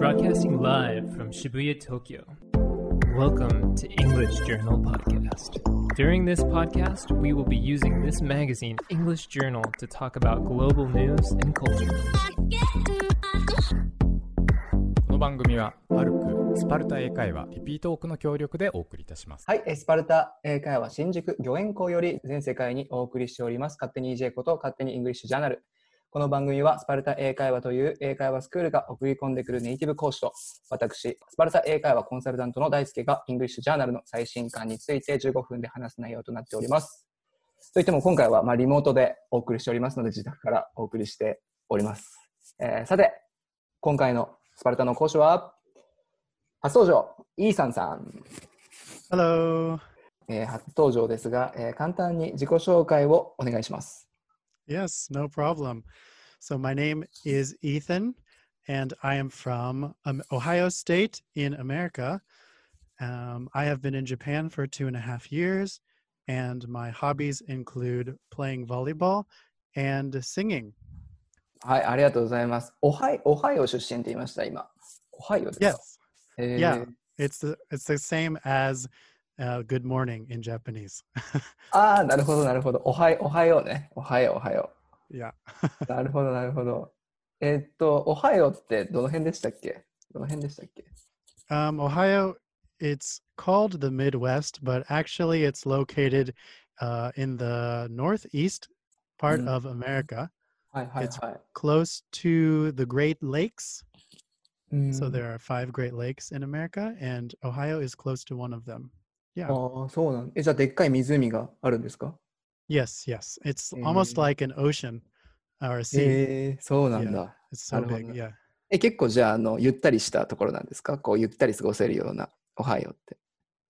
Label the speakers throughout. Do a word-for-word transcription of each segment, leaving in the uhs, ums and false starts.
Speaker 1: Broadcasting live from Shibuya, Tokyo. Welcome to English Journal Podcast. During this podcast, we will be using this magazine, English Journal, to talk about global news and culture.
Speaker 2: この番組はパルクスパルタ英会話リピートオークの協力でお送りいたします。
Speaker 3: はい、スパルタ英会話新宿御苑校より全世界にお送りしております勝手に イージェー こと勝手にイングリッシュジャーナル。この番組はスパルタ英会話という英会話スクールが送り込んでくるネイティブ講師と私スパルタ英会話コンサルタントの大輔がイングリッシュジャーナルの最新刊についてじゅうごふんで話す内容となっております。といっても今回はまあリモートでお送りしておりますので自宅からお送りしております。えー、さて今回のスパルタの講師は初登場イーサンさん。
Speaker 4: Hello、
Speaker 3: えー、初登場ですが、えー、簡単に自己紹介をお願いします。
Speaker 4: Yes, no problem. So my name is Ethan, and I am from um, Ohio State in America. Um, I have been in Japan for two and a half years, and my hobbies include playing volleyball and singing.
Speaker 3: はい、ありがとうございます。オハイ、オハイオ出身って言いました、今。オハイオですか？
Speaker 4: Yes.
Speaker 3: えー、
Speaker 4: Yeah, it's the, it's the same as uh, good morning in Japanese.
Speaker 3: ああ、なるほど、なるほど。おはよう、おはようね。おはよう、おはよ
Speaker 4: Yeah.
Speaker 3: う。なるほど、なるほど。えーっと、おはようってどの辺でしたっけ？どの辺でしたっけ？
Speaker 4: Um, Ohio, it's called the Midwest, but actually it's located uh, in the northeast part
Speaker 3: Mm.
Speaker 4: of America.
Speaker 3: はいはい
Speaker 4: It's
Speaker 3: はい。
Speaker 4: close to the Great Lakes.
Speaker 3: うん、
Speaker 4: So there are five Great Lakes in America, and Ohio is close to one of them. Yeah.
Speaker 3: ああ、そうなんえ、じゃあでっかい湖があるんですか？
Speaker 4: Yes, yes. It's
Speaker 3: え
Speaker 4: almost
Speaker 3: ー
Speaker 4: like an ocean or a sea.
Speaker 3: えー、そうなん
Speaker 4: Yeah,
Speaker 3: だ。
Speaker 4: it's
Speaker 3: な
Speaker 4: so
Speaker 3: るほど
Speaker 4: big.
Speaker 3: ね。
Speaker 4: Yeah.
Speaker 3: え、結構じゃあ、あの、ゆったりしたところなんですか？こう、ゆったり過ごせるような、おはようって。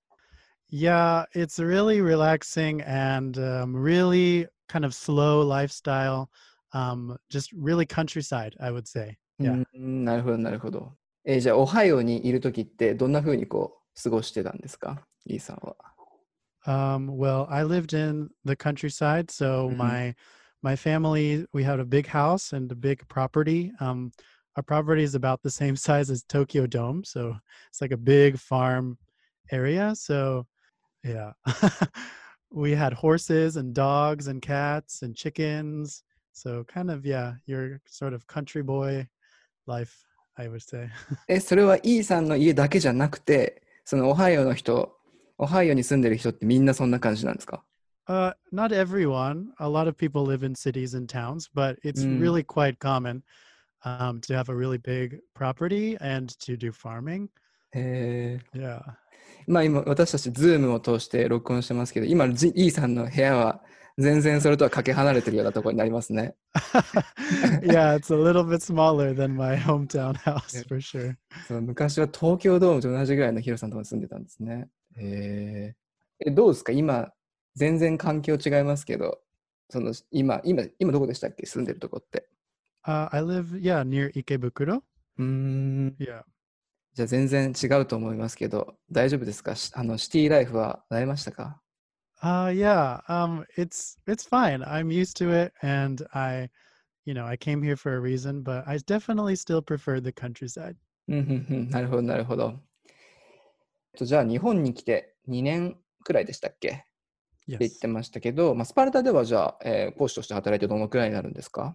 Speaker 4: Yeah, it's really relaxing and um, really kind of slow lifestyle. Um, just really countryside, I would say.
Speaker 3: う
Speaker 4: Yeah.
Speaker 3: ん、なるほど、なるほど。えーじゃあ、オハイオにいるときって、どんな風にこう、過ごしてたんですか？イーさんは。
Speaker 4: Um, well, I lived in the countryside, so
Speaker 3: Mhm.
Speaker 4: my my family, we had a big house and a big property. Um, our property is about the same size as Tokyo Dome, so it's like a big farm area. So yeah, we had horses and dogs and cats and chickens. So kind of yeah, your sort of country boy life, I would say.
Speaker 3: え、それはイーさんの家だけじゃなくて、そのオハイオの人、オハイオに住んでる人ってみんなそんな感じなんですか？
Speaker 4: Uh, not everyone. A lot of people live in cities and towns, but it's
Speaker 3: Mm.
Speaker 4: really quite common um, to have a really big property and to do farming.
Speaker 3: へえ。
Speaker 4: Yeah.
Speaker 3: まあ今、私たちズームを通して録音してますけど、今、ジイーさんの部屋は全然それとはかけ離れてるようなところになりますね。
Speaker 4: Yeah, it's a little bit smaller than my hometown house
Speaker 3: Yeah.
Speaker 4: for sure.
Speaker 3: そう昔は東京ドームと同じぐらいの広さのところに住んでたんですね。へえ。え、どうですか今、全然環境違いますけど、その今、今、今どこでしたっけ住んでるとこって。
Speaker 4: Uh, I live, yeah, near Ikebukuro.
Speaker 3: うーん。
Speaker 4: Yeah.
Speaker 3: じゃあ全然違うと思いますけど、大丈夫ですか？しあの、シティライフは慣れましたか？
Speaker 4: Uh, yeah. Um, it's it's fine. I'm used to it, and I, you know, I came here for a reason, but I definitely still prefer the countryside.
Speaker 3: うんうんうん、なるほど、なるほど。えっとじゃあ日本に来てにねんくらいでしたっけって言っ
Speaker 4: Yes.
Speaker 3: てましたけど、まあ、スパルタではじゃあ、えー講師として働いてどのくらいになるんですか？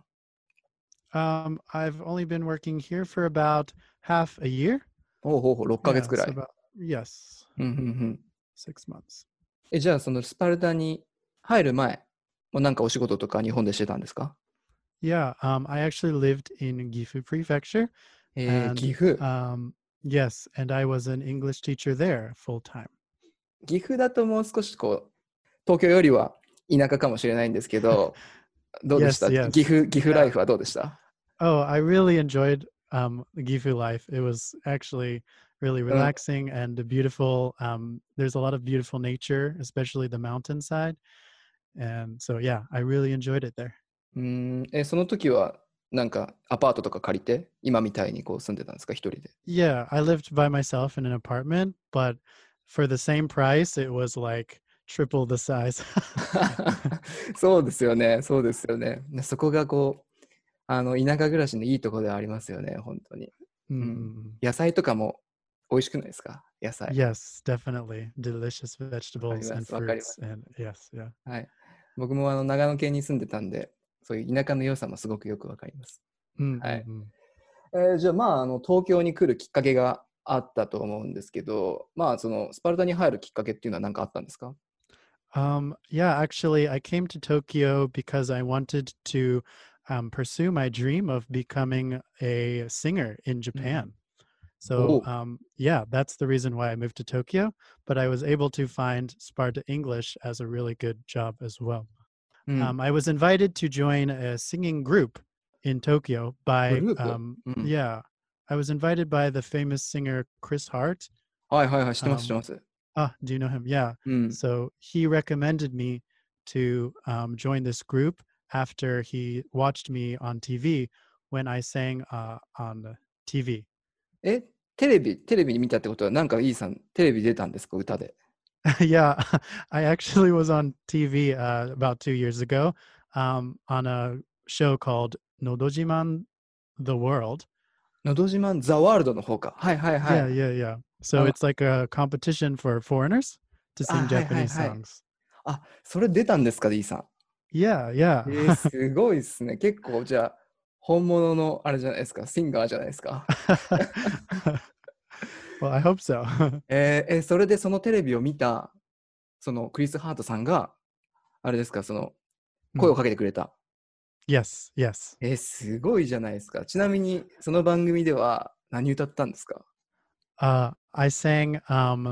Speaker 4: Um, I've only been working here for about half a year.
Speaker 3: おうほうほう、ろっかげつ
Speaker 4: Yeah,
Speaker 3: くら
Speaker 4: so
Speaker 3: い。
Speaker 4: about, yes,
Speaker 3: うんうんうん。
Speaker 4: six months.
Speaker 3: え、じゃあそのスパルタに入る前、もうなんかお仕事とか日本でしてたんですか？
Speaker 4: Yeah, um, I actually lived in Gifu Prefecture,
Speaker 3: えー、
Speaker 4: and
Speaker 3: 岐阜。
Speaker 4: um, yes, and I was an English teacher there full time.
Speaker 3: 岐阜だともう少しこう、東京よりは田舎かもしれないんですけど、どうでした？
Speaker 4: Yes, yes.
Speaker 3: 岐阜、岐阜ライフはどうでした？
Speaker 4: Oh, I really enjoyed um, the Gifu life. It was actually really
Speaker 3: Uh.
Speaker 4: relaxing and beautiful. Um, there's a lot of beautiful nature, especially the mountainside. And so, yeah, I really enjoyed it there.
Speaker 3: うーん、え、その時はなんかアパートとか借りて今みたいにこう住んでたんですか？一人で。
Speaker 4: Yeah, I lived by myself in an apartment, but for the same price, it was like triple the size.
Speaker 3: そうですよね、そうですよね。そこがこう、あの田舎暮らしのいいところではありますよね、本当に。うん、
Speaker 4: Mhm.
Speaker 3: い野菜とかも美味しくないですか？野菜。
Speaker 4: Yes, definitely. Delicious
Speaker 3: わかり
Speaker 4: vegetables
Speaker 3: ま
Speaker 4: and
Speaker 3: す、わかりま
Speaker 4: fruits.
Speaker 3: す。
Speaker 4: And yes, yeah.
Speaker 3: はい。僕もあの長野県に住んでたんで、そういう田舎の良さもすごくよくわかります。はい。
Speaker 4: Mm-mm-mm.
Speaker 3: えーじゃあ、まあ、あの東京に来るきっかけがあったと思うんですけど、まあ、そのスパルタに入るきっかけっていうのは何かあったんですか？
Speaker 4: Um, yeah, actually, I came to Tokyo because I wanted to um, pursue my dream of becoming a singer in
Speaker 3: うん。
Speaker 4: Japan.
Speaker 3: お
Speaker 4: So,
Speaker 3: う。
Speaker 4: um, yeah, that's the reason why I moved to Tokyo. But I was able to find Sparta English as a really good job as well.
Speaker 3: うん。
Speaker 4: Um, I was invited to join a singing group in Tokyo
Speaker 3: グ
Speaker 4: by,
Speaker 3: ループ。
Speaker 4: um,
Speaker 3: うん。
Speaker 4: yeah, I was invited by the famous singer Chris Hart.
Speaker 3: はいはいはい、知ってます、知って
Speaker 4: Um,
Speaker 3: ます。
Speaker 4: ah, do you know him? Yeah.
Speaker 3: うん。
Speaker 4: So he recommended me to um, join this group after he watched me on T V when I sang uh, on T V.
Speaker 3: え、テレビ、テレビに見たってことは、なんかイーさん、テレビ出たんですか、歌で。
Speaker 4: Yeah, I actually was on T V uh, about two years ago um, on a show called Nodojiman The World.
Speaker 3: のど自慢ザワールドの方か。はいはいは
Speaker 4: Yeah,
Speaker 3: い。
Speaker 4: yeah, yeah.
Speaker 3: あ
Speaker 4: So
Speaker 3: の、
Speaker 4: it's like a competition for foreigners to
Speaker 3: あ、
Speaker 4: sing
Speaker 3: はいはい
Speaker 4: Japanese
Speaker 3: はい。
Speaker 4: songs.
Speaker 3: あ、それ出たんですか、イーさん。
Speaker 4: Yeah,
Speaker 3: え
Speaker 4: yeah.
Speaker 3: ー、すごいですね。結構、じゃあ、本物のあれじゃないですか、シンガーじゃないですか。
Speaker 4: Well, I hope so.
Speaker 3: えーえ、それでそのテレビを見た、そのクリス・ハートさんが、あれですか、その声を
Speaker 4: Mm.
Speaker 3: かけてくれた。
Speaker 4: Yes, yes.
Speaker 3: えー、すごいじゃないですか。ちなみに、その番組では何歌ったんですか？
Speaker 4: Uh, I sang um,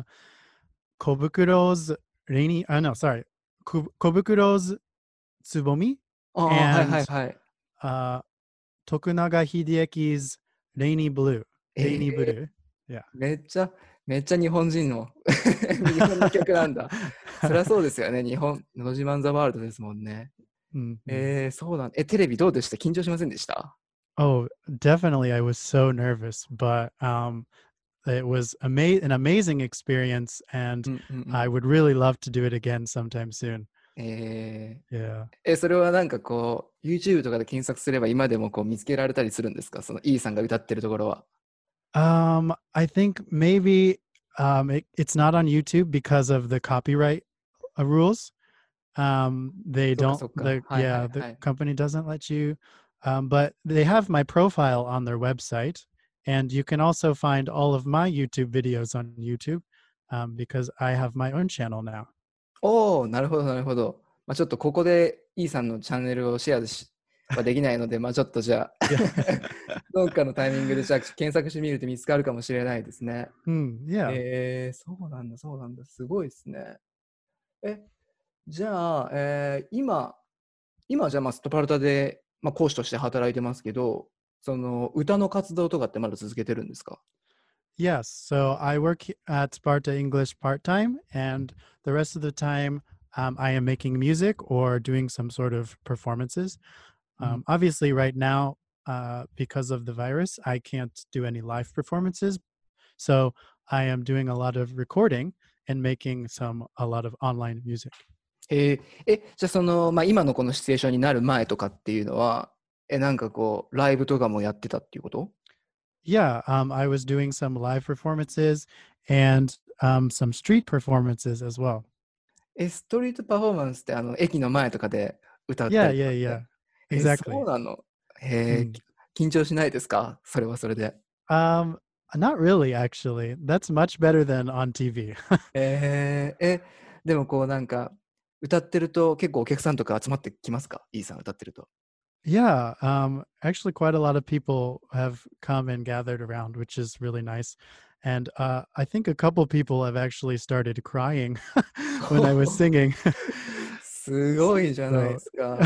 Speaker 4: Kobukuro's rainy. Uh, no, sorry, Ko- Kobukuro's Tsubomi
Speaker 3: ああ、はいは
Speaker 4: and
Speaker 3: いはい。
Speaker 4: uh, Tokunaga Hidieki's Rainy Blue.
Speaker 3: え
Speaker 4: Rainy
Speaker 3: ー、
Speaker 4: Blue. Yeah.
Speaker 3: めっちゃ、めっちゃ日本人の日本の曲なんだ。そりゃそうですよね。日本、のど自慢ザワールドですもんね。
Speaker 4: Mhm.
Speaker 3: えー、そうなん。え、テレビどうでした？緊張しませんでした？
Speaker 4: Oh, definitely. I was so nervous, but um, it was ama- an amazing experience,
Speaker 3: う
Speaker 4: and
Speaker 3: んうんう
Speaker 4: I
Speaker 3: ん。
Speaker 4: would really love to do it again sometime soon.
Speaker 3: え
Speaker 4: Yeah.
Speaker 3: ー、え、それはなんかこう、YouTube とかで検索すれば今でもこう見つけられたりするんですか？その E さんが歌ってるところは。
Speaker 4: Um, I think maybe um, it, it's not on YouTube because of the copyright uh, rules. Um, they
Speaker 3: そっか
Speaker 4: don't.
Speaker 3: そっか。
Speaker 4: The
Speaker 3: はいは
Speaker 4: yeah,
Speaker 3: い
Speaker 4: the
Speaker 3: はい。
Speaker 4: company doesn't let you. Um, but they have my profile on their website, and you can also find all of my YouTube videos on YouTube um, because I have my own channel now.
Speaker 3: おお、なるほどなるほど。まあ、ちょっとここで E さんのチャンネルをシェアしはできないので、まあちょっとじゃあ
Speaker 4: Yeah.
Speaker 3: どっかのタイミングでじゃあ検索してみると見つかるかもしれないですね。
Speaker 4: Hmm, yeah.
Speaker 3: えー、そうなんだそうなんだ。すごいですね。え、じゃあ、えー今、今じゃあまあスパルタで、まあ、講師として働いてますけど、その歌の活動とかってまだ続けてるんですか？
Speaker 4: Yes. So I work he- at Sparta English part time, and the rest of the time um, I am making music or doing some sort of performances. Um, obviously, right now, uh, because of the virus, I can't do any live performances. So I am doing a lot of recording and making some a lot of online music.
Speaker 3: えーえ、じゃあその、まあ、今のこのシチュエーションになる前とかっていうのは、え、なんかこう、ライブとかもやってたっていうこと？
Speaker 4: Yeah, um, I was doing some live performances and um, some street performances as well.
Speaker 3: え、ストリートパフォーマンスってあの駅の前とかで歌った
Speaker 4: Yeah,
Speaker 3: りとか
Speaker 4: yeah,
Speaker 3: って。
Speaker 4: yeah.
Speaker 3: え、そ
Speaker 4: Exactly.
Speaker 3: うなの？へえ、
Speaker 4: Mm.
Speaker 3: 緊張しないですか？それはそれで。
Speaker 4: Um, not really, actually. That's much better than on T V.
Speaker 3: えー、え、でもこうなんか、歌ってると結構お客さんとか集まってきますか？ E さん歌ってると。
Speaker 4: Yeah, um, actually, quite a lot of people have come and gathered around, which is really nice. And uh, I think a couple people have actually started crying when I was singing.
Speaker 3: すごいじゃないで
Speaker 4: So
Speaker 3: すか。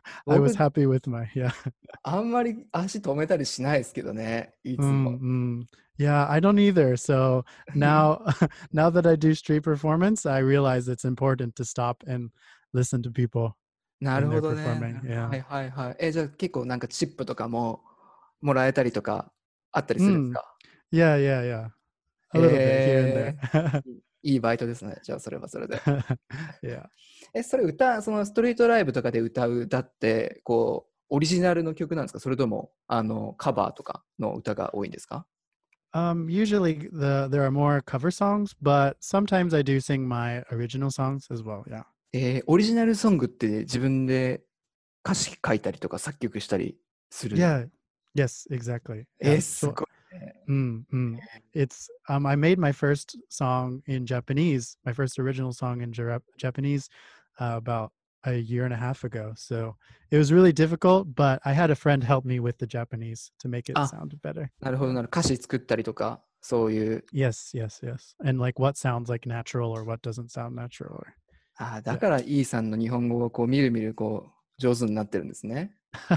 Speaker 4: I was
Speaker 3: 僕、
Speaker 4: happy with my, yeah.
Speaker 3: あんまり足止めたりしないですけどね、いつ
Speaker 4: Mm,
Speaker 3: も。
Speaker 4: mm. Yeah, I don't either. So now, now that I do street performance, I realize it's important to stop and listen to people
Speaker 3: な
Speaker 4: when
Speaker 3: る
Speaker 4: they're
Speaker 3: ほどね。
Speaker 4: performing. Yeah.
Speaker 3: はいはいはい。え、じゃあ結構なんかチップとかももらえたりとかあったりするんです
Speaker 4: Mm.
Speaker 3: か？
Speaker 4: Yeah, yeah, yeah. A little bit here and
Speaker 3: へ
Speaker 4: there.
Speaker 3: え、いいバイトですね。じゃあそれはそれで。
Speaker 4: Yeah.
Speaker 3: え、それ歌、そのストリートライブとかで歌う歌って、こう、オリジナルの曲なんですか？それとも、あの、カバーとかの歌が多いんですか？
Speaker 4: Um, usually the there are more cover songs, but sometimes I do sing my original songs as well. Yeah.
Speaker 3: えー、オリジナルソングって自分で歌詞書いたりとか作曲したりする。
Speaker 4: Yeah. Yes, exactly.
Speaker 3: えー、
Speaker 4: Yeah.
Speaker 3: す
Speaker 4: So,
Speaker 3: ごいね。
Speaker 4: mm, mm. It's um I made my first song in Japanese, my first original song in Jara- Japanese uh, about a year and a half ago. So it was really difficult, but I had a friend help me with the Japanese to make it
Speaker 3: あ、
Speaker 4: sound better.
Speaker 3: なるほど
Speaker 4: Yeah.
Speaker 3: なる。歌詞作ったりとか、そういう。
Speaker 4: Yes, yes, yes. And like what sounds like natural or what doesn't sound natural. Or
Speaker 3: あ、だから E さんの日本語がこうみるみるこう上手になってるんですね。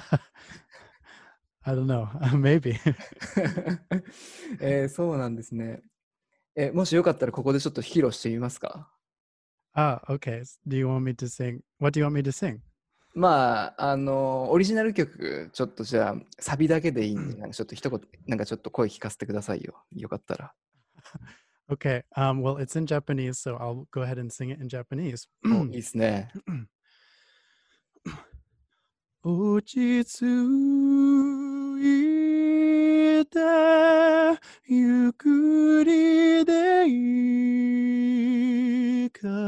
Speaker 4: I don't know. Maybe.
Speaker 3: えー、そうなんですね。え、もしよかったらここでちょっと披露してみますか？
Speaker 4: Ah, okay. Do you want me to sing? What do you want me to sing?
Speaker 3: まあ、あの、オリジナル曲、ちょっとじゃあ、サビだけでいいんで、なんかちょっと一言、なんかちょっと声聞かせてくださいよ。よかったら。
Speaker 4: Okay. Um, well, it's in Japanese, so I'll go ahead and sing it in Japanese.
Speaker 3: お、いいですね。
Speaker 4: 落ち着いてゆっくりでいい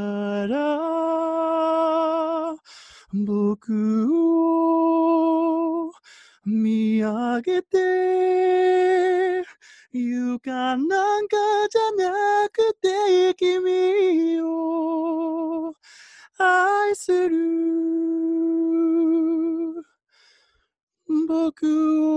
Speaker 4: から僕を見上げて床なんかじゃなくて君を愛する僕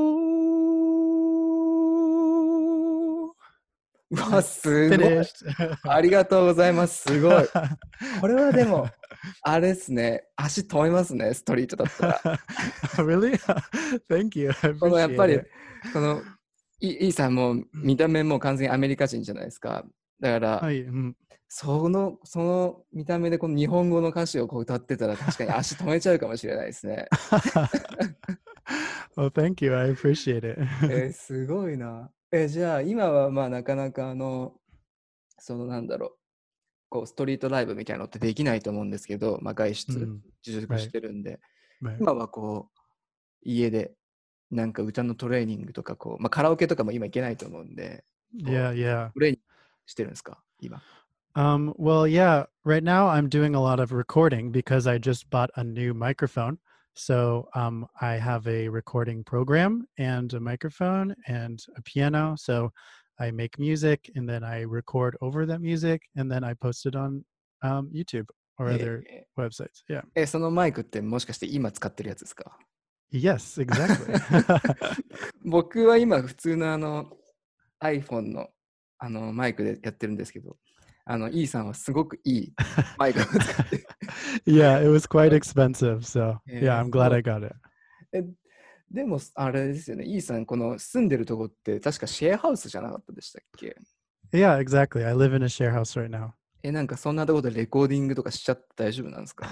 Speaker 4: を。
Speaker 3: うわ、すごい。
Speaker 4: Finished.
Speaker 3: ありがとうございます。すごい。これはでも、あれですね。足止めますね、ストリートだったら。
Speaker 4: Really? Thank you. I
Speaker 3: このやっぱ
Speaker 4: appreciate
Speaker 3: り
Speaker 4: it.
Speaker 3: このイイーさんも見た目も完全にアメリカ人じゃないですか。だから、
Speaker 4: はい、うん、
Speaker 3: そのその見た目でこの日本語の歌詞をこう歌ってたら確かに足止めちゃうかもしれないですね。
Speaker 4: well, thank you. I appreciate it.
Speaker 3: えー、すごいな。え、じゃあ今はまあなかなかあのそのなんだろう、こうストリートライブみたいなのってできないと思うんですけど、まあ、外出、
Speaker 4: うん、
Speaker 3: 自粛してるんで、
Speaker 4: right.
Speaker 3: 今はこう家でなんか歌のトレーニングとかこう、まあ、カラオケとかも今行けないと思うんで、
Speaker 4: Yeah, yeah.
Speaker 3: トレーニングしてるんですか今？
Speaker 4: Um, well, yeah, right now I'm doing a lot of recording because I just bought a new microphone. So um, I have a recording program and a microphone and a piano. So I make music and then I record over that music and then I post it on um, YouTube or
Speaker 3: え
Speaker 4: other
Speaker 3: ー
Speaker 4: websites. Yeah.
Speaker 3: え、そのマイクってもしかして今使ってるやつですか？
Speaker 4: Yes, exactly.
Speaker 3: 僕は今普通のあの iPhone のあのマイクでやってるんですけど、あの E さんはすごくいいマイクを使って。
Speaker 4: Yeah, it was quite expensive. So
Speaker 3: えー
Speaker 4: yeah, I'm glad
Speaker 3: そう
Speaker 4: I got it.
Speaker 3: え、でもあれですよね、E さんこの住んでるとこって確かシェアハウスじゃなかったでしたっけ？
Speaker 4: Yeah, exactly. I live in a share house right now.
Speaker 3: え、なんかそんなところでレコーディングとかしちゃって大丈夫なんですか？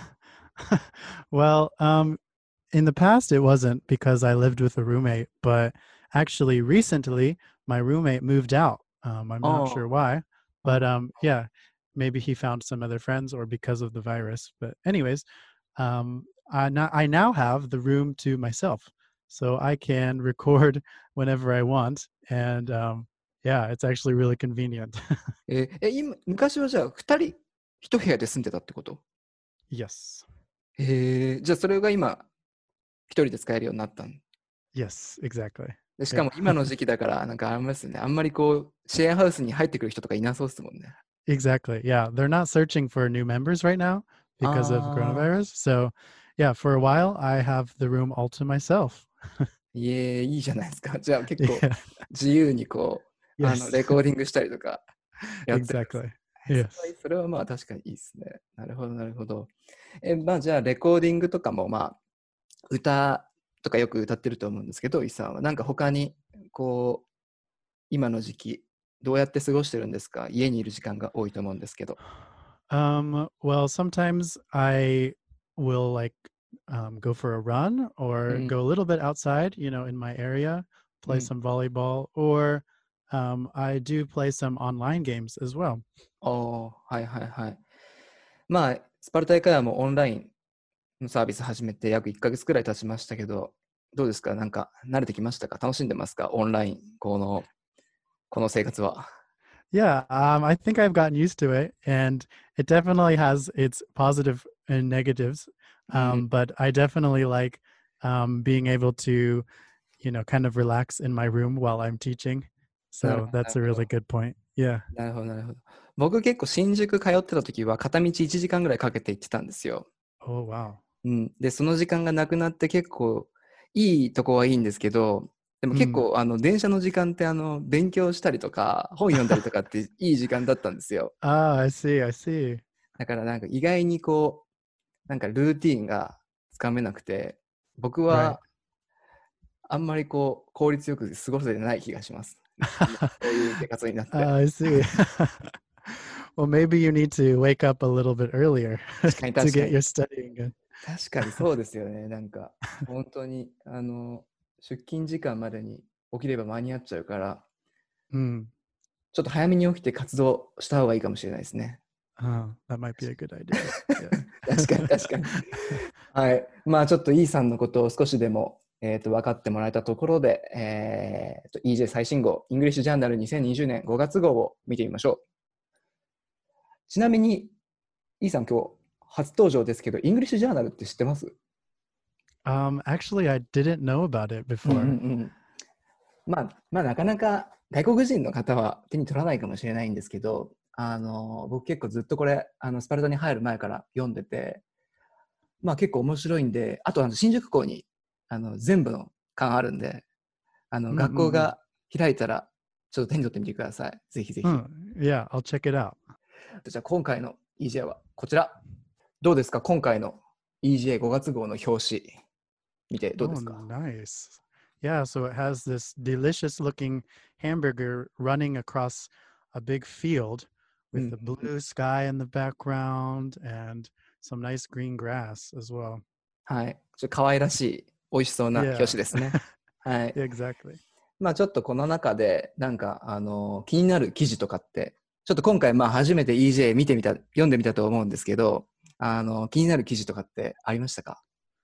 Speaker 4: Well, um, in the past, it wasn't because I lived with a roommate, but actually recently my roommate moved out. Um, I'm not sure
Speaker 3: あ
Speaker 4: why,
Speaker 3: あ、
Speaker 4: but um, yeah, maybe he found some other friends or because of the virus. But anyways, um, I now, I now have the room to myself, so I can record whenever I want. And um, yeah, it's actually really convenient.
Speaker 3: え、え、今、昔はじゃあふたり一部屋で住んでたってこと？
Speaker 4: Yes.
Speaker 3: へえ、じゃあそれが今一人で使えるようになったん
Speaker 4: Yes, exactly.
Speaker 3: で、しかも
Speaker 4: Yeah.
Speaker 3: 今の時期だからなんかありますよね。あんまりこうシェアハウスに入ってくる人とかいなそうですもんね。
Speaker 4: Exactly. Yeah. They're not searching for new members right now because of
Speaker 3: ああ、
Speaker 4: coronavirus. So, yeah, for a while, I have the room all to myself.
Speaker 3: いえ、いいじゃないですか。じゃあ結構
Speaker 4: Yeah.
Speaker 3: 自由にこう、あの
Speaker 4: Yes.
Speaker 3: レコーディングしたりとかやってるんです
Speaker 4: Exactly.
Speaker 3: それ
Speaker 4: Yes.
Speaker 3: はそれはまあ確かにいいですね。なるほど、なるほど。え、まあじゃあレコーディングとかもまあ歌とかよく歌ってると思うんですけど、イさんはなんか他にこう今の時期どうやって過ごしてるんですか？家にいる時間が多いと思うんですけど。
Speaker 4: Um, well, sometimes I will like um, go for a run
Speaker 3: う
Speaker 4: or
Speaker 3: ん、
Speaker 4: go a little bit outside, you know, in my area,
Speaker 3: う
Speaker 4: play
Speaker 3: ん。
Speaker 4: some volleyball, or um, I do play some online games as well.
Speaker 3: ああ、はいはいはい。まあ、スパルタ英会話もオンラインのサービス始めて約いっかげつくらい経ちましたけど、どうですか？なんか慣れてきましたか？楽しんでますか？オンライン、このこの生活は。
Speaker 4: Yeah, um, I think I've gotten used to it, and it definitely has its positive and negatives.
Speaker 3: うん、
Speaker 4: Um, but I definitely like um, being able to, you know, kind of relax in my room while I'm teaching.
Speaker 3: なる
Speaker 4: So
Speaker 3: ほど、な
Speaker 4: that's
Speaker 3: る
Speaker 4: a
Speaker 3: ほ
Speaker 4: really
Speaker 3: ど。
Speaker 4: good point. Yeah.
Speaker 3: なるほど、なるほど。僕結構新宿通ってた時は片道いちじかんぐらいかけて行ってたんですよ。
Speaker 4: Oh, wow.
Speaker 3: うん、で、その時間がなくなって結構いいとこはいいんですけど、でも結構、あの電車の時間ってあの勉強したりとか本読んだりとかっていい時間だったんですよ。
Speaker 4: Ah, I see. I see.
Speaker 3: だからなんか意外にこうなんかルーティーンがつかめなくて、僕
Speaker 4: Right.
Speaker 3: はあんまりこう効率よく過ごせてない気がします。そういう生活になって。
Speaker 4: Uh, I see. Well, maybe you need to wake up a little bit earlier
Speaker 3: 確かに
Speaker 4: to
Speaker 3: 確か
Speaker 4: get
Speaker 3: に
Speaker 4: your studying in.
Speaker 3: 確かにそうですよね。なんか本当にあの出勤時間までに起きれば間に合っちゃうから、
Speaker 4: Mm.
Speaker 3: ちょっと早めに起きて活動した方がいいかもしれないですね。
Speaker 4: Oh, that might be a good idea. Yeah.
Speaker 3: 確かに確かに。はい。まあちょっと E さんのことを少しでも、えー、と分かってもらえたところで、えー、と イージェー 最新号、イングリッシュジャーナルにせんにじゅうねんごがつ号を見てみましょう。ちなみに E さん今日初登場ですけど、イングリッシュジャーナルって知ってます？
Speaker 4: Um, actually, I didn't know about it
Speaker 3: うん
Speaker 4: before.
Speaker 3: うんうん。まあ、まあなかなか外国人の方は手に取らないかもしれないんですけど、あの僕結構ずっとこれあのスパルタに入る前から読んでて、まあ結構面白いんで、あとあの新宿港にあの全部の巻あるんで、あの
Speaker 4: うんうんうん
Speaker 3: 学校が開いたらちょっと手に取ってみてください。ぜひぜひ。
Speaker 4: Hmm. Yeah, I'll check it out.
Speaker 3: じゃあ今回の イージェー はこちら。どうですか？今回の イージェーごがつ号の表紙見てどうですか？
Speaker 4: Oh, nice. Yeah, so it has this delicious looking hamburger running across a big field with the blue sky in the background and some nice green grass as well.
Speaker 3: はい。ちょっと可愛らしい美味しそうな
Speaker 4: Yeah.
Speaker 3: 表紙ですね。はい。
Speaker 4: Exactly.
Speaker 3: まあちょっとこの中でなんかあの気になる記事とかってちょっと今回まあ初めて イージェー 見てみた読んでみたと思うんですけど、あの気になる記事とかってありましたか？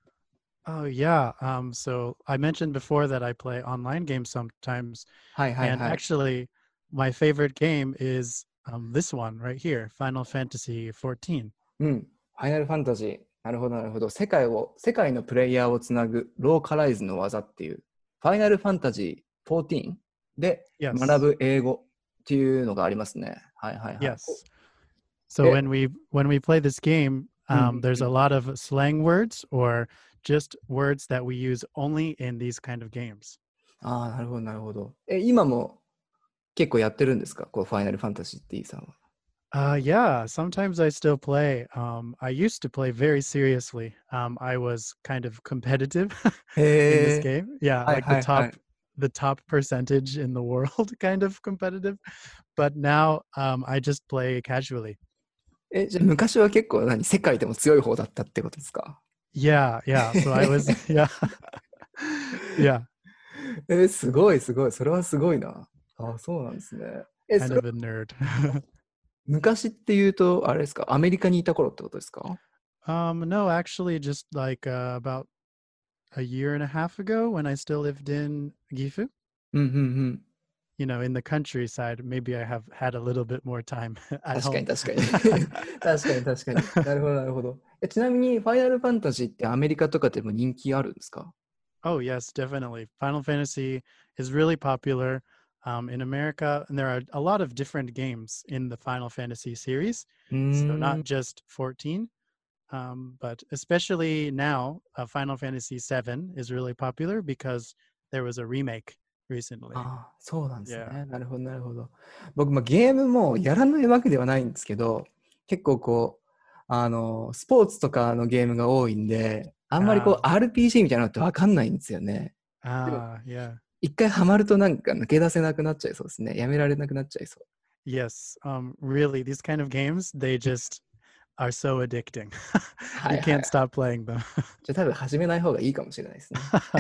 Speaker 4: Oh, yeah. Um, so I mentioned before that I play online games sometimes.
Speaker 3: はいはい
Speaker 4: And
Speaker 3: はい。
Speaker 4: actually, my favorite game is um, this one right here, Final Fantasy fourteen.
Speaker 3: うん。ファイナルファンタジー。なるほどなるほど。世界を世界のプレイヤーをつなぐローカライズの技っていうファイナルファンタジーじゅうよんで
Speaker 4: Yes.
Speaker 3: 学ぶ英語っていうのがありますね。はいはいはい。
Speaker 4: Yes. So
Speaker 3: Eh.
Speaker 4: when we when we play this game, um,
Speaker 3: Mhm.
Speaker 4: there's a lot of slang words or just words that we use only in these kind of games.
Speaker 3: ああ、なるほどなるほど。え、今も結構やってるんですか？こうファイナルファンタジーって E さんは。
Speaker 4: Uh, yeah, sometimes I still play. Um, I used to play very seriously. Um, I was kind of competitive in this
Speaker 3: へえ。
Speaker 4: game. Yeah,
Speaker 3: はい
Speaker 4: like
Speaker 3: は
Speaker 4: the
Speaker 3: いはい。
Speaker 4: top the top percentage in the world kind of competitive. But now um, I just play casually.
Speaker 3: え、じゃあ昔は結構何世界でも強い方だったってことですか？
Speaker 4: Yeah, yeah. So I was yeah. Yeah,
Speaker 3: え、すごいすごい。それはすごいな。あ、そうなんですね。え、そ
Speaker 4: kind
Speaker 3: れ
Speaker 4: of a nerd.
Speaker 3: 昔っていうと、あれですか？アメリカにいた頃ってことですか？
Speaker 4: Um, no, actually, just like uh, about a year and a half ago when I still lived in Gifu,
Speaker 3: うんうんうん。
Speaker 4: you know, in the countryside, maybe I have had a little bit more time at
Speaker 3: 確か
Speaker 4: home.
Speaker 3: に確かに。確かに確かに。なるほどなるほど。え、ちなみにファイナルファンタジーってアメリカとかでも人気あるんですか？
Speaker 4: Oh, yes, definitely. Final Fantasy is really popular um, in America, and there are a lot of different games in the Final Fantasy series.
Speaker 3: う
Speaker 4: So
Speaker 3: ーん。
Speaker 4: not just fourteen, um, but especially now, uh, Final Fantasy seven is really popular because there was a remake recently.
Speaker 3: ああ、そうなんですね。
Speaker 4: Yeah.
Speaker 3: なるほどなるほど。僕、まあ、ゲームもやらないわけではないんですけど、結構こう、あの、スポーツとかのゲームが多いんで、あんまりこう、
Speaker 4: あ
Speaker 3: アールピージー みたいなのってわかんないんですよね。
Speaker 4: Ah, yeah.
Speaker 3: 一回ハマるとなんか抜け出せなくなっちゃいそうですね。やめられなくなっちゃいそう。
Speaker 4: Yes. Um, really, these kind of games, they just are so addicting.
Speaker 3: は
Speaker 4: You
Speaker 3: いはい。
Speaker 4: can't stop playing them.
Speaker 3: じゃあ多分始めない方がいいかもしれないですね。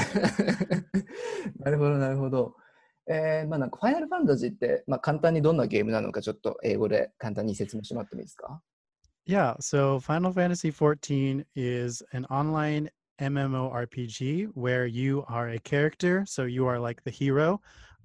Speaker 3: なるほどなるほど。えー、まあなんかファイナルファンタジーって、まあ、簡単にどんなゲームなのかちょっと英語で簡単に説明してもらってもいいですか？
Speaker 4: Yeah, so Final Fantasy fourteen is an online MMORPG where you are a character, so you are like the hero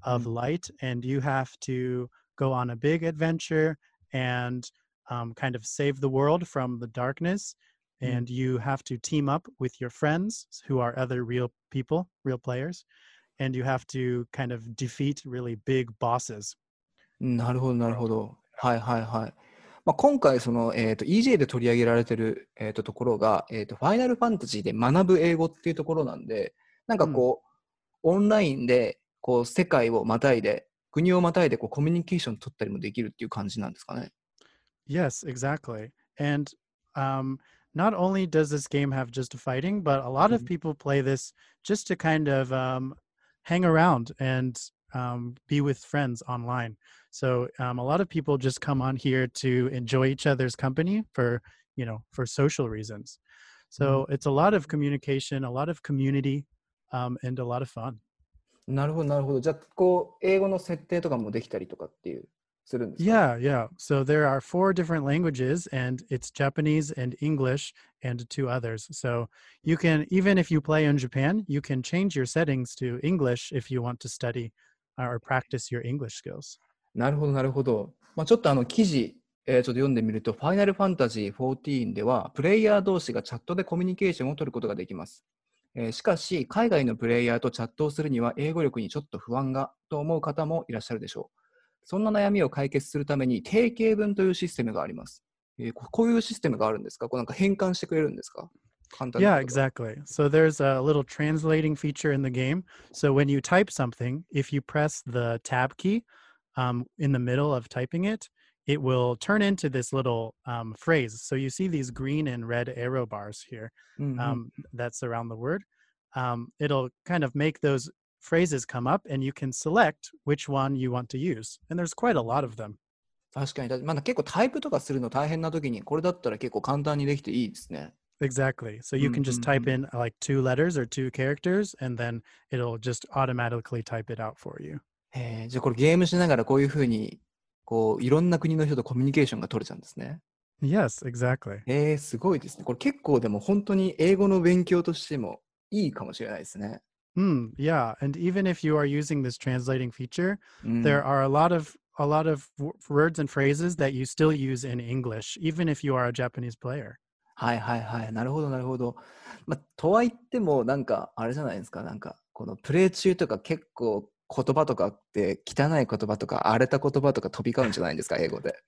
Speaker 4: of
Speaker 3: Mm.
Speaker 4: light, and you have to go on a big adventure and um, kind of save the world from the darkness.
Speaker 3: Mm.
Speaker 4: And you have to team up with your friends who are other real people, real players, and you have to kind of defeat really big bosses.
Speaker 3: なるほど、なるほど。はいはいはい。まあ、今回その、えーと、イージェー で取り上げられてる、えーと、ところが、えーと、ファイナルファンタジーで学ぶ英語っていうところなんで、なんかこう、オンラインでこう世界をまたいで、国をまたいでこうコミュニケーション取ったりもできるっていう感じなんですかね。
Speaker 4: Yes, exactly. And um, not only does this game have just fighting, but a lot of
Speaker 3: Mhm.
Speaker 4: people play this just to kind of um, hang around and um, be with friends online. So um, a lot of people just come on here to enjoy each other's company for, you know, for social reasons. So it's a lot of communication, a lot of community, um, and a lot of fun.
Speaker 3: なるほど、なるほど。じゃあ、こう、英語の設定とかもできたりとかっていう、するんですか？
Speaker 4: Yeah, yeah. So there are four different languages, and it's Japanese and English and two others. So you can, even if you play in Japan, you can change your settings to English if you want to study or practice your English skills.
Speaker 3: なるほど、なるほど。まあ、ちょっとあの記事、えー、ちょっと読んでみると、ファイナルファンタジーじゅうよんでは、プレイヤー同士がチャットでコミュニケーションを取ることができます。えーしかし、海外のプレイヤーとチャットをするには、英語力にちょっと不安がと思う方もいらっしゃるでしょう。そんな悩みを解決するために、定型文というシステムがあります。えーここういうシステムがあるんですか？こうなんか変換してくれるんですか？簡単な
Speaker 4: Yeah,
Speaker 3: 言葉。
Speaker 4: exactly. So there's a little translating feature in the game. So when you type something, if you press the tab key um, in the middle of typing it, it will turn into this little um, phrase. So you see these green and red arrow bars here
Speaker 3: うんうん
Speaker 4: um, that surround the word. Um, it'll kind of make those phrases come up, and you can select which one you want to use. And there's quite a lot of them.
Speaker 3: 確かに、だまだ結構タイプとかするの大変な時に、これだったら結構簡単にできていいですね。
Speaker 4: Exactly. So you can just type in like two letters or two characters, and then it'll just automatically type it out for you.
Speaker 3: へえ、じゃあこれゲームしながらこういうふうに、こう、いろんな国の人とコミュニケーションが取れちゃうんですね。
Speaker 4: Yes, exactly.
Speaker 3: へえ、すごいですね。これ結構でも本当に英語の勉強としてもいいかもしれないですね。
Speaker 4: Hmm. Yeah. And even if you are using this translating feature,
Speaker 3: うん、
Speaker 4: there are a lot of a lot of w- words and phrases that you still use in English, even if you are a Japanese player.
Speaker 3: はいはいはい。なるほどなるほど。まあ、とはいっても、なんか、あれじゃないですか。なんか、このプレイ中とか結構言葉とかって汚い言葉とか荒れた言葉とか飛び交うんじゃないんですか、英語で。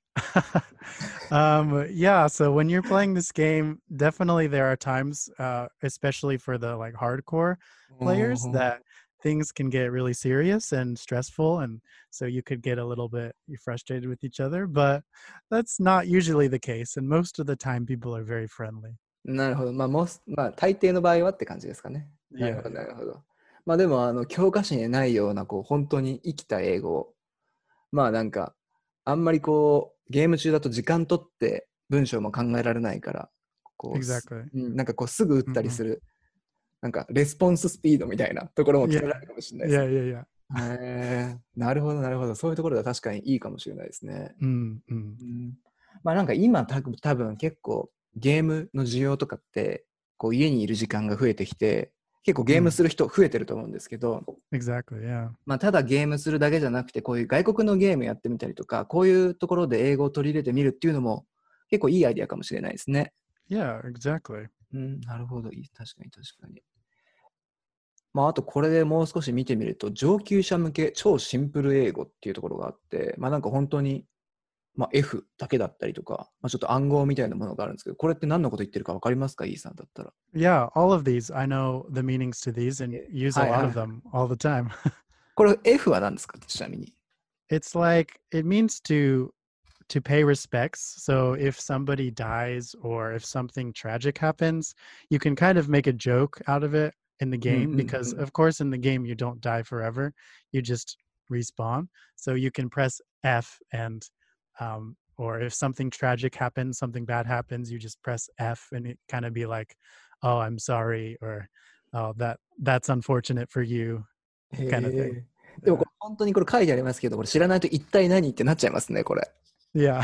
Speaker 4: um, yeah. So when you're playing this game, definitely there are times, uh, especially for the like hardcore players,
Speaker 3: うん
Speaker 4: that things can get really serious and stressful, and so you could get a little bit frustrated with each other. But that's not usually the case, and most of the time, people are very friendly.
Speaker 3: なるほど。まあ、もすまあ、大抵の場合はって感じですかね。なる
Speaker 4: Yeah,
Speaker 3: ほど、な
Speaker 4: yeah.
Speaker 3: るほど。まあでも、あの、教科書にないような、こう、本当に生きた英語を、まあなんか、あんまりこう、ゲーム中だと時間取って文章も考えられないから、こう、す
Speaker 4: Exactly.
Speaker 3: うんなんかこう、すぐ打ったり
Speaker 4: Mhm.
Speaker 3: する、なんか、レスポンススピードみたいなところも決め
Speaker 4: Yeah,
Speaker 3: られるかもしれないです
Speaker 4: yeah,
Speaker 3: ね。
Speaker 4: yeah, yeah.
Speaker 3: へえ、なるほど、なるほど。そういうところが確かにいいかもしれないですね。
Speaker 4: Mm-hmm.
Speaker 3: うんまあなんか今た多分結構ゲームの需要とかってこう家にいる時間が増えてきて結構ゲームする人増えてると思うんですけど、
Speaker 4: Exactly. Yeah.
Speaker 3: まあただゲームするだけじゃなくてこういう外国のゲームやってみたりとかこういうところで英語を取り入れてみるっていうのも結構いいアイデアかもしれないですね。
Speaker 4: Yeah, exactly.
Speaker 3: うんなるほどいい確かに確かに。まああとこれでもう少し見てみると上級者向け超シンプル英語っていうところがあってまあなんか本当にまあ、F だけだったりとか、まあ、ちょっと暗号みたいなものがあるんですけど、これって何のこと言ってるか分かりますか、イーさんだったら。
Speaker 4: Yeah, all of these. I know the meanings to these and
Speaker 3: Yeah.
Speaker 4: use a
Speaker 3: Hi,
Speaker 4: lot
Speaker 3: hi.
Speaker 4: of them all the time.
Speaker 3: これ F は何ですか、ちなみに。
Speaker 4: It's like it means to to pay respects. So if somebody dies or if something tragic happens, you can kind of make a joke out of it in the game
Speaker 3: mm,
Speaker 4: because
Speaker 3: mm.
Speaker 4: of course in the game you don't die forever. You just respawn. So you can press F and um or if something tragic happens, something bad happens, you just press F and it kind of be like, "Oh, I'm sorry," or "Oh, that that's unfortunate for you," kind of
Speaker 3: へ
Speaker 4: thing.
Speaker 3: え。でもこれ本当にこれ書いてありますけど、これ知らないと一体何ってなっちゃいますね、これ。
Speaker 4: Yeah.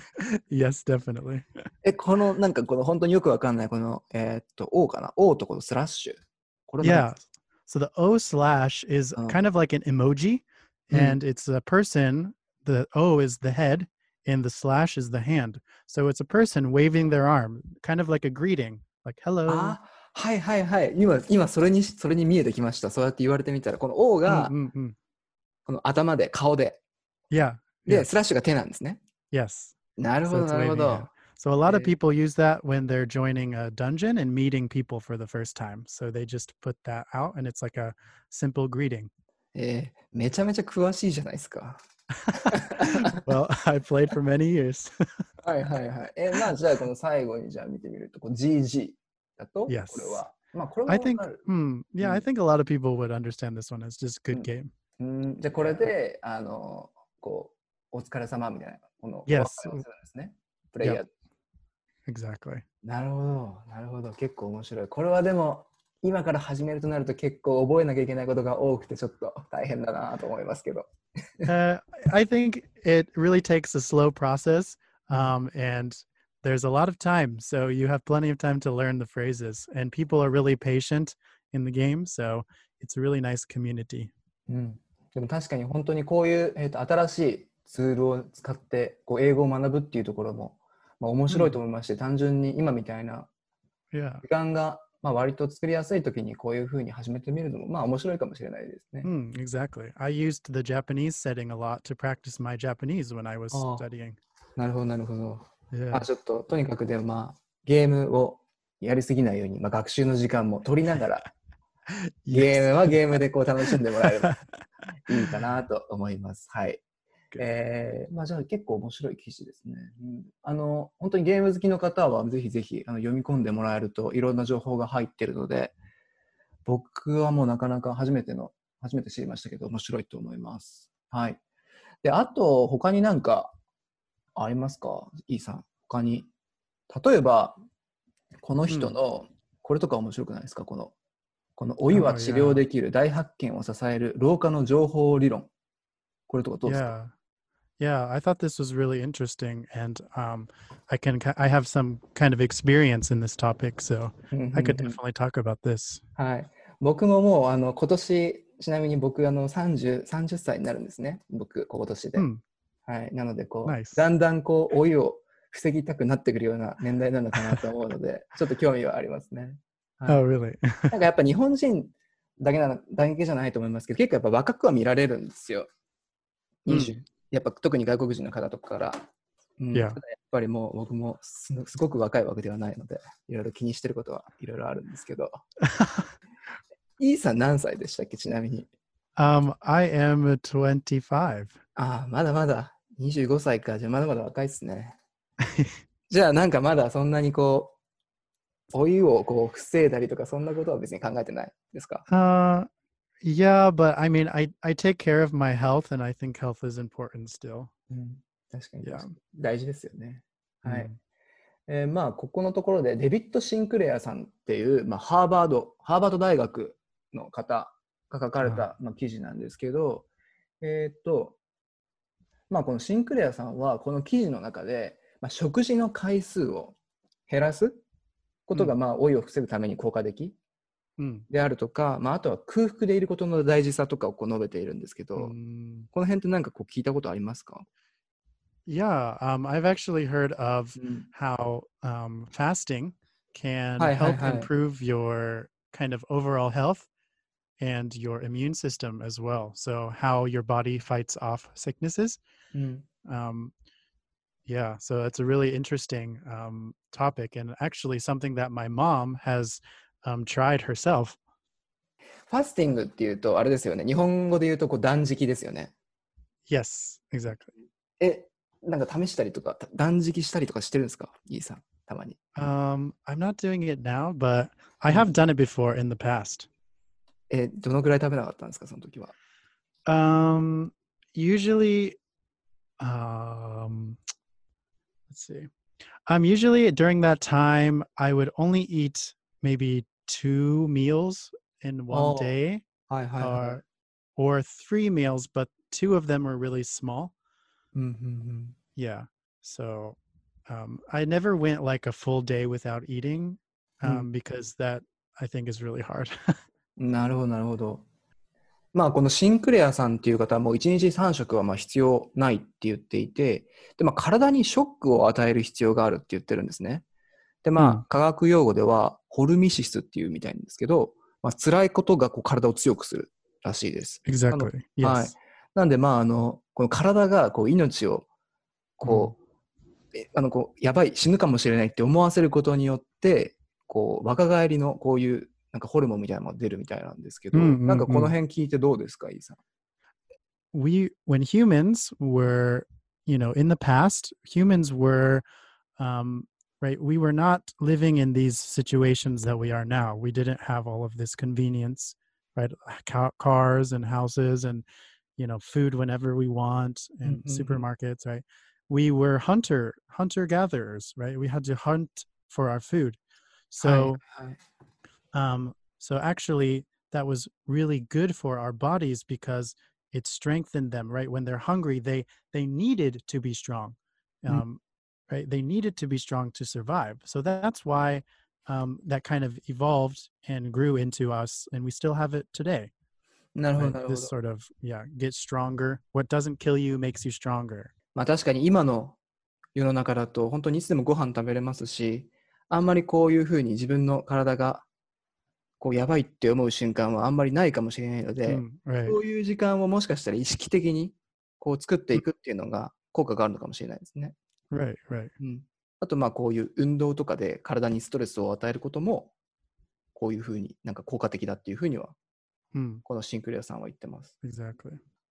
Speaker 4: Yes, definitely.
Speaker 3: え、このなんかこの本当によくわかんないこの、えーっと、O かな ?O とこのスラッシュ。これ何
Speaker 4: Yeah. So the O slash is
Speaker 3: Oh.
Speaker 4: kind of like an emoji. and it's a person. The O is the head, and the slash is the hand. So it's a person waving their arm, kind of like a greeting, like hello.
Speaker 3: あ、はいはいはい。今、今それに、それに見えてきました。そうやって言われてみたら、この O が、
Speaker 4: うんうんうん。
Speaker 3: この頭で、顔で。
Speaker 4: Yeah.
Speaker 3: で、
Speaker 4: Yes.
Speaker 3: スラッシュが手なんですね。
Speaker 4: Yes.
Speaker 3: なるほ
Speaker 4: So
Speaker 3: ど、
Speaker 4: it's
Speaker 3: なるほ
Speaker 4: waving
Speaker 3: ど。
Speaker 4: hand. So a lot of
Speaker 3: えー
Speaker 4: people use that when they're joining a dungeon and meeting people for the first time. So they just put that out, and it's like a simple greeting.
Speaker 3: えーめちゃめちゃ詳しいじゃないですか。
Speaker 4: Well, I played for many years.
Speaker 3: はいはいはい。えーまあじゃあこの最後にじゃあ見てみると、こう ジージー だと、
Speaker 4: Yes.
Speaker 3: これは、まあこれも
Speaker 4: I
Speaker 3: わ
Speaker 4: think,
Speaker 3: かる。
Speaker 4: hmm, yeah, I
Speaker 3: うん
Speaker 4: think a lot of people would understand this one as just good
Speaker 3: うん
Speaker 4: game.
Speaker 3: うんじゃあこれで、あの、こう、お疲れ様みたいな、このお別
Speaker 4: Yes.
Speaker 3: れをするんですね。プレイヤー。
Speaker 4: Exactly.
Speaker 3: なるほど、なるほど。結構面白い。これはでも、今から始めるとなると結構覚えなきゃいけないことが多くてちょっと大変だなと思いますけど。
Speaker 4: Uh, I think it really takes a slow process, um, and there's a lot of time. So you have plenty of time to learn the phrases, and people are really patient in the game. So it's a really nice community.
Speaker 3: うん、でも確かに本当にこういう、えーと、新しいツールを使ってこう英語を学ぶっていうところも、まあ、面白いと思いまして、単純に今みたいな
Speaker 4: Yeah.
Speaker 3: 時間が、まあ、割と作りやすい時にこういうふうに始めてみるのもまあ面白いかもしれないですね。
Speaker 4: Mm, exactly. I used the Japanese setting a lot to practice my Japanese when I was
Speaker 3: Oh.
Speaker 4: studying.
Speaker 3: なるほどなるほど。まあ
Speaker 4: Yeah.
Speaker 3: ちょっととにかくでもまあゲームをやりすぎないように、まあ、学習の時間も取りながらゲー
Speaker 4: Yes.
Speaker 3: ムはゲームでこう楽しんでもらえればいいかなと思います。はい。
Speaker 4: Good.
Speaker 3: えー、まあじゃあ結構面白い記事ですね。うん、あの本当にゲーム好きの方はぜひぜひあの読み込んでもらえるといろんな情報が入っているので、僕はもうなかなか初めての初めて知りましたけど面白いと思います。はい。で、あと他になんかありますか、イーさん。他に例えばこの人の、これとか面白くないですか、このこの老いは治療できる大発見を支える老化の情報理論。これとかどうですか？
Speaker 4: Yeah. Yeah, I thought this was really interesting, and um, I can I have some kind of experience in this topic, so I could definitely talk about this.
Speaker 3: はい。僕ももうあの今年ちなみに僕あのさんじゅう、さんじゅっさいになるんですね。僕今年で。
Speaker 4: Hmm.
Speaker 3: はい。なのでこう、
Speaker 4: Nice.
Speaker 3: だんだんこう老いを防ぎたくなってくるような年代なのかなと思うので、ちょっと興味はありますね。はい、
Speaker 4: Oh, really?
Speaker 3: なんかやっぱ日本人だけなのだけじゃないと思いますけど、結構やっぱ若くは見られるんですよ。にじゅう、やっぱ特に外国人の方とかから。うん、
Speaker 4: Yeah.
Speaker 3: ただやっぱりもう僕も す, すごく若いわけではないので、いろいろ気にしてることはいろいろあるんですけど。イーさん何歳でしたっけ、ちなみに。
Speaker 4: um, I am twenty-five.
Speaker 3: ああ、まだまだにじゅうごさいか。じゃあまだまだ若いですね。じゃあなんかまだそんなにこう、老いをこう防いだりとかそんなことは別に考えてないですか？
Speaker 4: Uh, yeah, but I mean, I, I take care of my health, and I think health is important still.
Speaker 3: うん、確かに
Speaker 4: Yeah.
Speaker 3: 大事ですよね。はい。
Speaker 4: うん
Speaker 3: えーまあここのところでデビッド・シンクレアさんっていう、まあ、ハーバードハーバード大学の方が書かれた、まあ、記事なんですけど、えっとまあこのシンクレアさんはこの記事の中で、まあ、食事の回数を減らすことが、
Speaker 4: うん
Speaker 3: まあ老いを防ぐために効果的
Speaker 4: Mm.
Speaker 3: であるとか、まあ、あとは空腹でいることの大事さとかをこう述べているんですけど、
Speaker 4: Mm.
Speaker 3: この辺って何かこう聞いたことありますか？
Speaker 4: Yeah, um, I've actually heard of
Speaker 3: うん、
Speaker 4: how um, fasting can
Speaker 3: Hi, hi,
Speaker 4: help
Speaker 3: hi.
Speaker 4: improve your kind of overall health and your immune system as well. So how your body fights off sicknesses.
Speaker 3: うん
Speaker 4: Um, yeah, so it's a really interesting um, topic, and actually something that my mom has um, tried herself.
Speaker 3: ファスティングっていうとあれですよね。日本語で言うとこう断食ですよね。
Speaker 4: Yes, exactly.
Speaker 3: え、なんか試したりとか断食したりとかしてるんですか、イーさん、たまに。
Speaker 4: Um, I'm not doing it now, but I
Speaker 3: Mm.
Speaker 4: have done it before in the past.
Speaker 3: え、どのぐらい食べなかったんですか、その時は。
Speaker 4: Um, usually, um, let's see. Um, usually during that time, I would only eat maybe two meals in one
Speaker 3: Oh.
Speaker 4: day,
Speaker 3: はいはいはい。
Speaker 4: or or three meals, but two of them were really small.
Speaker 3: うんうん
Speaker 4: Yeah. So, um, I never went like a full day without eating, um,
Speaker 3: Mm.
Speaker 4: because that I think is really hard.
Speaker 3: うん。なるほどなるほど。 まあこのシンクレアさんっていう方はもういちにちさん食はまあ必要ないって言っていて、でまあ体にショックを与える必要があるって言ってるんですね。でまあ、
Speaker 4: うん
Speaker 3: 科学用語ではホルミシスっていうみたいなんですけど、まあ辛いことがこう体を強くするらしいです。なの
Speaker 4: Exactly.
Speaker 3: はい。
Speaker 4: Yes.
Speaker 3: なんでまああの、この体がこう命をこう、えあのこうやばい死ぬかもしれないって思わせることによってこう若返りのこういうなんかホルモンみたいなのが出るみたいなんですけど、
Speaker 4: うんうんうん、
Speaker 3: なんかこの辺聞いてどうですか、イーさん。
Speaker 4: We, when humans were, you know, in the past, humans were, um, right, we were not living in these situations that we are now. We didn't have all of this convenience, right? Ca- cars and houses and, you know, food whenever we want and supermarkets, right? We were hunter, hunter gatherers, right? We had to hunt for our food.
Speaker 3: はい
Speaker 4: So,
Speaker 3: はい
Speaker 4: um, so actually, that was really good for our bodies because it strengthened them. Right when they're hungry, they they needed to be strong,
Speaker 3: うん
Speaker 4: um, right? They needed to be strong to survive. So that's why um, that kind of evolved and grew into us, and we still have it today.
Speaker 3: なるほど
Speaker 4: Right?
Speaker 3: なるほ
Speaker 4: This
Speaker 3: ど。
Speaker 4: sort of yeah, get stronger. What doesn't kill you makes you stronger.
Speaker 3: まあ確かに今の世の中だと本当にいつでもご飯食べれますし、あんまりこういうふうに自分の体がこうやばいって思う瞬間はあんまりないかもしれないので、
Speaker 4: Mm, right.
Speaker 3: そういう時間をもしかしたら意識的にこう作っていくっていうのが効果があるのかもしれないですね。
Speaker 4: Right. Right.
Speaker 3: うん、あとまあこういう運動とかで体にストレスを与えることもこういうふうになんか効果的だっていうふうには
Speaker 4: Mm,
Speaker 3: このシンクレアさんは言ってます。
Speaker 4: exactly.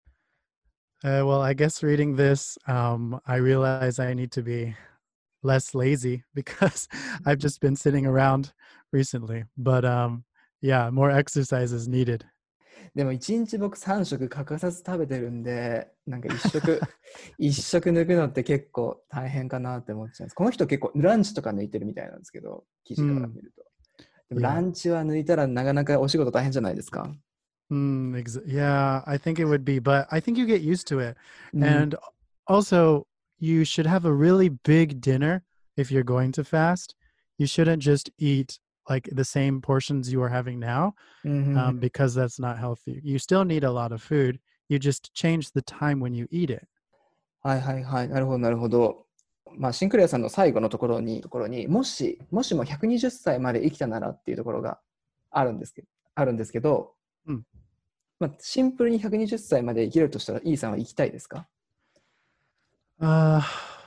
Speaker 4: Uh, well, I guess reading this, um, I realize I need to be less lazy because I've just been sitting around recently. But um, yeah, more exercise is needed.
Speaker 3: でもいちにち僕さん食欠かさず食べてるんで、なんかいっ食いっ食抜くのって結構大変かなって思っちゃうんです。この人結構ランチとか抜いてるみたいなんですけど、記事から見ると、でも
Speaker 4: Yeah.
Speaker 3: ランチは抜いたらなかなかお仕事大変じゃないですか。
Speaker 4: Mm, ex- yeah, I think it would be, but I think you get used to it.
Speaker 3: うん
Speaker 4: And also, you should have a really big dinner if you're going to fast. You shouldn't just eat like the same portions you are having now,
Speaker 3: うんうんうん
Speaker 4: um, because that's not healthy. You still need a lot of food. You just change the time when you eat it.
Speaker 3: はいはいはい、なるほどなるほど。まあシンクレアさんの最後のところにところにもしもしもひゃくにじゅっさいまで生きたならっていうところがあるんですけど、あるんですけど、
Speaker 4: うん
Speaker 3: まあ、シンプルにひゃくにじゅっさいまで生きるとしたら、イーさんは生きたいですか？
Speaker 4: Uh,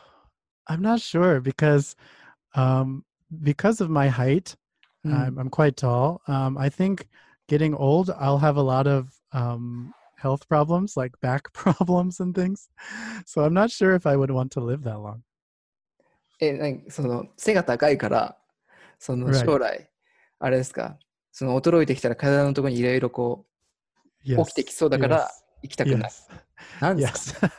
Speaker 4: I'm not sure because, um, because of my height,
Speaker 3: うん
Speaker 4: I'm, I'm quite tall. Um, I think getting old, I'll have a lot of um, health problems, like back problems and things. So I'm not sure if I would want to live that long.
Speaker 3: え、なんかその背が高いからその
Speaker 4: Right.
Speaker 3: 将来あれですか、その衰えてきたら体のところにいろいろこう
Speaker 4: Yes.
Speaker 3: 起きてきそうだから
Speaker 4: Yes.
Speaker 3: 生きたくない。
Speaker 4: Yes.
Speaker 3: なんですか？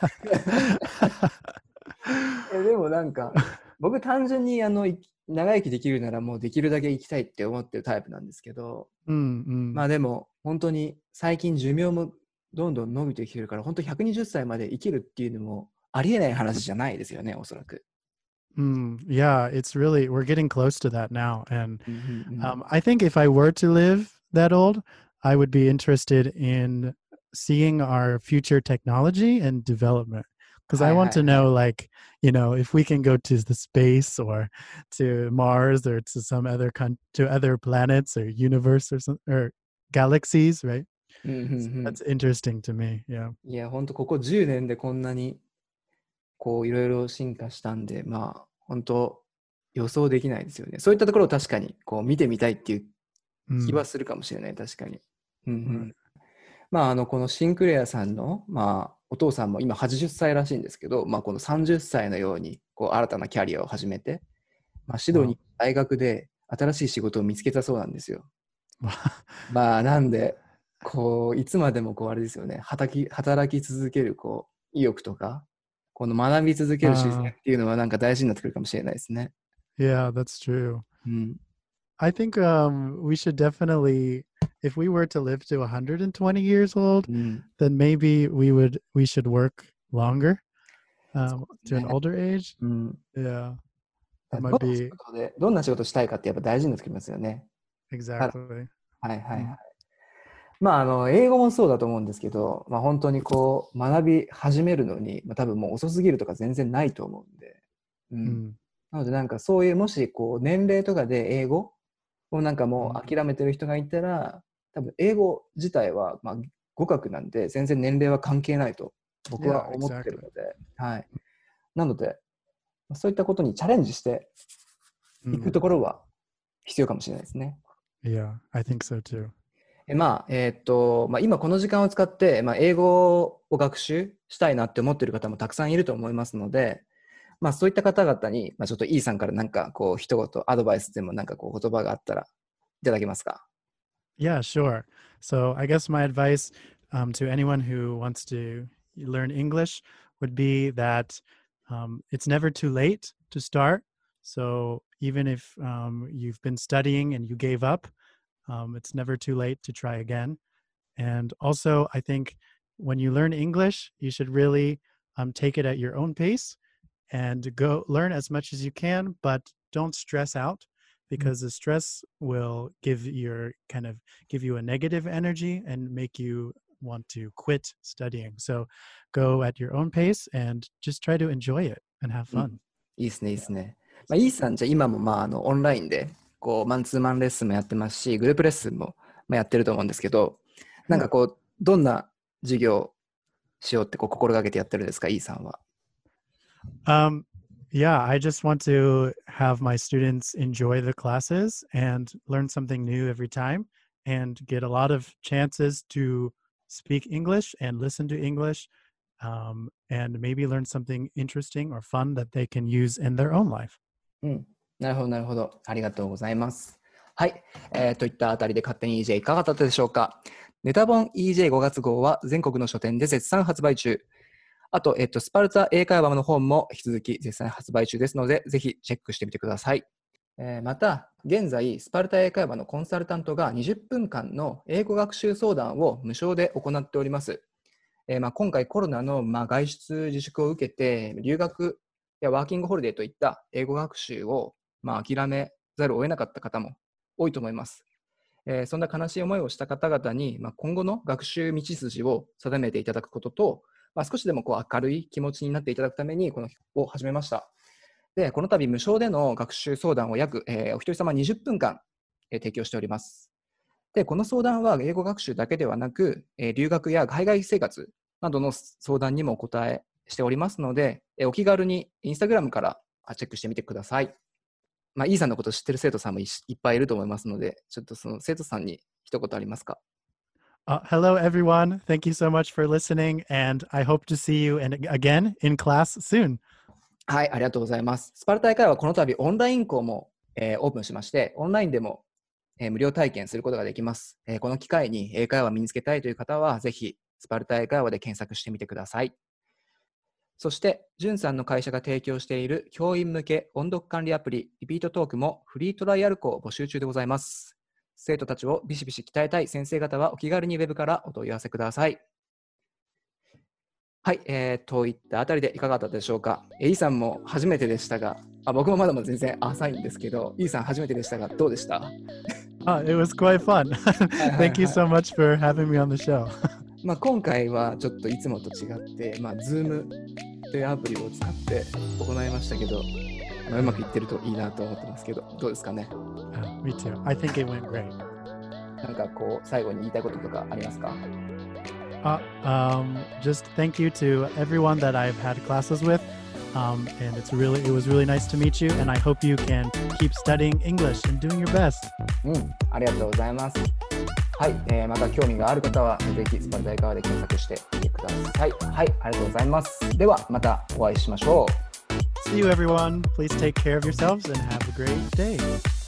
Speaker 4: Yes.
Speaker 3: えでもなんか僕単純にあのい長生きできるならもうできるだけ生きたいって思ってるタイプなんですけど、
Speaker 4: Mm, mm.
Speaker 3: まあでも本当に最近寿命もどんどん伸びてきてるから本当ひゃくにじゅっさいまで生きるっていうのもありえない話じゃないですよね、おそらく。
Speaker 4: Mm, yeah, it's really, we're getting close to that now. And
Speaker 3: うんうんうん
Speaker 4: um, I think if I were to live that old, I would be interested in seeing our future technology and development. Because I
Speaker 3: Hi,
Speaker 4: want
Speaker 3: hi,
Speaker 4: to know, like, you know, if we can go to the space or to Mars or to some other con- to other planets or universe or some or galaxies, right?
Speaker 3: うんうんう
Speaker 4: So
Speaker 3: ん
Speaker 4: that's interesting to me. Yeah.
Speaker 3: いや本当ここじゅうねんでこんなにこういろいろ進化したんで、まあ本当予想できないですよね。そういったところを確かにこう見てみたいっていう気
Speaker 4: Mm,
Speaker 3: はするかもしれない、確かに。うんうん
Speaker 4: right.
Speaker 3: まああのこのシンクレアさんの、まあ、お父さんも今はちじゅっさいらしいんですけど、まあ、このさんじゅっさいのようにこう新たなキャリアを始めて、まあ、シドニー大学で新しい仕事を見つけたそうなんですよ。まあなんでこういつまでもこうあれですよね、働き、働き続けるこう意欲とかこの学び続ける姿勢っていうのはなんか大事になってくるかもしれないですね。
Speaker 4: Yeah, that's true.
Speaker 3: うん、
Speaker 4: I think um, we should definitely, if we were to live to one hundred twenty years old,
Speaker 3: うん、
Speaker 4: then maybe we would we should work longer um, to an
Speaker 3: ね
Speaker 4: older age.
Speaker 3: うん、
Speaker 4: Yeah,
Speaker 3: ど
Speaker 4: that
Speaker 3: んな
Speaker 4: might
Speaker 3: 仕
Speaker 4: be
Speaker 3: 事でどんな仕事したいかってやっぱ大事になってきますよね。
Speaker 4: exactly.
Speaker 3: はいはいはい。
Speaker 4: うん
Speaker 3: まあ、あの、英語もそうだと思うんですけど、まあ、本当にこう、学び始めるのに、まあ、多分もう遅すぎるとか全然ないと思うんで。うん。
Speaker 4: Mm,
Speaker 3: なので、なんかそういう、もし、こう、年齢とかで英語をなんかも
Speaker 4: mm.
Speaker 3: う諦めてる人がいたら、多分、英語自体は、まあ、語学なんで、全然年齢は関係ないと、僕
Speaker 4: Yeah,
Speaker 3: は思ってる
Speaker 4: exactly.
Speaker 3: ので、はい。なので、そういったことにチャレンジしていく
Speaker 4: Mm,
Speaker 3: ところは必要かもしれないですね。
Speaker 4: yeah, I think so too.
Speaker 3: えまあ、えーっと、まあ、今この時間を使って、まあ、英語を学習したいなって思っている方もたくさんいると思いますので、まあ、そういった方々に、まあ、ちょっと E さんからなんかこう一言アドバイスでもなんかこう言葉があったらいただけますか？
Speaker 4: Yeah, sure. So I guess my advice um, to anyone who wants to learn English would be that um, it's never too late to start. So even if um, you've been studying and you gave up, um, it's never too late to try again. And also, I think when you learn English, you should really um, take it at your own pace and go learn as much as you can, but don't stress out because the stress will give your kind of give you a negative energy and make you want to quit studying. So go at your own pace and just try to enjoy it and have
Speaker 3: うん、
Speaker 4: fun.
Speaker 3: いいですね、いいですね。まあ、E さんじゃあ今もまああのオンラインでこうマンツーマンレッスンもやってますし、グループレッスンもまあやってると思うんですけど、なんかこうどんな授業をしようってこう心がけてやってるんですか、E さんは。
Speaker 4: Um, yeah, I just want to have my students enjoy the classes and learn something new every time and get a lot of chances to speak English and listen to English um, and maybe learn something interesting or fun that they can use in their own life.
Speaker 3: うん、なるほど、なるほど。ありがとうございます。はい、えー、といったあたりで勝手に イージェー いかがだったでしょうか。ネタ本 イージェーご 月号は全国の書店で絶賛発売中。あと、えっと、スパルタ英会話の本も引き続き絶賛発売中ですので、ぜひチェックしてみてください。えー、また、現在、スパルタ英会話のコンサルタントがにじゅっぷんかんの英語学習相談を無償で行っております。えーまあ、今回コロナの、まあ、外出自粛を受けて、留学やワーキングホリデーといった英語学習を、まあ、諦めざるを得なかった方も多いと思います。えー、そんな悲しい思いをした方々に、まあ、今後の学習道筋を定めていただくことと、まあ、少しでもこう明るい気持ちになっていただくためにこのを始めました。で、この度無償での学習相談を約、えー、お一人様にじゅっぷんかん、えー、提供しております。で、この相談は英語学習だけではなく、えー、留学や海外生活などの相談にもお答えしておりますので、えー、お気軽にインスタグラムからチェックしてみてください。まあ、E さんのことを知ってる生徒さんも い, いっぱいいると思いますので、ちょっとその生徒さんに一言ありますか
Speaker 4: ？Uh, hello, everyone. Thank you so much for listening, and I hope to see you in, again in class soon.
Speaker 3: はい、ありがとうございます。スパルタ英会話はこの度オンライン校も、えー、オープンしまして、オンラインでも、えー、無料体験することができます、えー。この機会に英会話を身につけたいという方は、ぜひスパルタ英会話で検索してみてください。そして、じゅんさんの会社が提供している教員向け音読管理アプリ、リピートトークもフリートライアル校を募集中でございます。生徒たちをビシビシ鍛えたい先生方はお気軽にウェブからお問い合わせください。はい、えー、といったあたりでいかがだったでしょうか。E さんも初めてでしたが、あ僕もまだまだ全然浅いんですけど、E さん初めてでしたがどうでした？
Speaker 4: Uh, it was quite fun. Thank you so much for having me on the show.
Speaker 3: まあ今回はちょっといつもと違って、まあ、Zoom というアプリを使って行いましたけど、まあ、うまくいってるといいなと思ってますけど、どうですかね？
Speaker 4: Uh, me too. I think it went great.
Speaker 3: なんかこう最後に言いたいこととかありますか
Speaker 4: ？Uh, um, just thank you to everyone that I've had classes with, um, and it's really it was really nice to meet you. And I hope you can keep studying English and doing your best.
Speaker 3: うん、ありがとうございます。はい、えー、また興味がある方はぜひスパルタ英会話で検索してみてください。はい、ありがとうございます。ではまたお会いしましょう。
Speaker 4: See you, everyone. Please take care of yourselves and have a great day.